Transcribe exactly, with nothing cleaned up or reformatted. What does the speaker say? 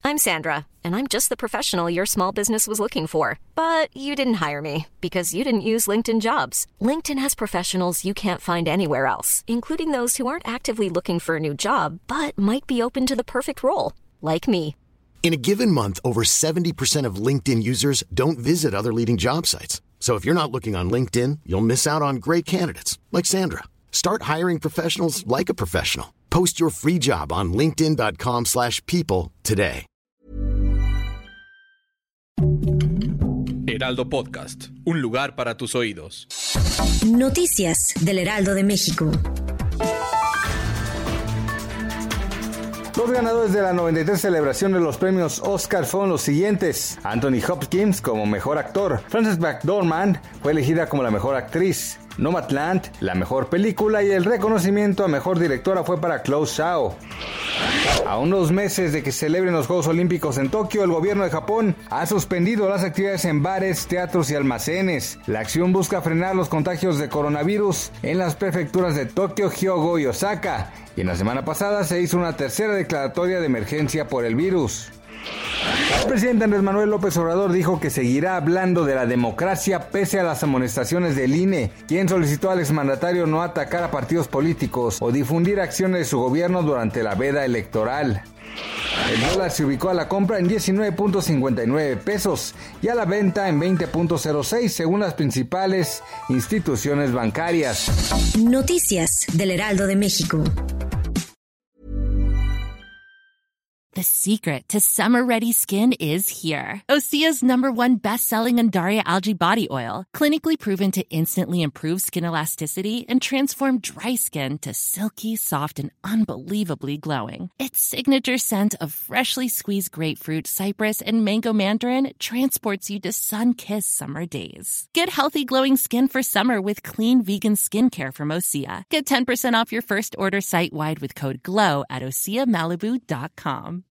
I'm Sandra, and I'm just the professional your small business was looking for. But you didn't hire me because you didn't use LinkedIn Jobs. LinkedIn has professionals you can't find anywhere else, including those who aren't actively looking for a new job, but might be open to the perfect role, like me. In a given month, over seventy percent of LinkedIn users don't visit other leading job sites. So if you're not looking on LinkedIn, you'll miss out on great candidates like Sandra. Start hiring professionals like a professional. Post your free job on linkedin dot com slash people today. Heraldo Podcast, un lugar para tus oídos. Noticias del Heraldo de México. Los ganadores de la noventa y tres celebración de los premios Oscar fueron los siguientes: Anthony Hopkins como mejor actor, Frances McDormand fue elegida como la mejor actriz, Nomadland la mejor película y el reconocimiento a mejor directora fue para Chloe Zhao. A unos meses de que se celebren los Juegos Olímpicos en Tokio, el gobierno de Japón ha suspendido las actividades en bares, teatros y almacenes. La acción busca frenar los contagios de coronavirus en las prefecturas de Tokio, Hyogo y Osaka. Y en la semana pasada se hizo una tercera declaratoria de emergencia por el virus. El presidente Andrés Manuel López Obrador dijo que seguirá hablando de la democracia pese a las amonestaciones del I N E, quien solicitó al exmandatario no atacar a partidos políticos o difundir acciones de su gobierno durante la veda electoral. El dólar se ubicó a la compra en diecinueve punto cincuenta y nueve pesos y a la venta en veinte punto cero seis según las principales instituciones bancarias. Noticias del Heraldo de México. The secret to summer-ready skin is here. Osea's number one best-selling Undaria Algae Body Oil, clinically proven to instantly improve skin elasticity and transform dry skin to silky, soft, and unbelievably glowing. Its signature scent of freshly squeezed grapefruit, cypress, and mango mandarin transports you to sun-kissed summer days. Get healthy, glowing skin for summer with clean vegan skincare from Osea. Get ten percent off your first order site-wide with code GLOW at osea malibu dot com.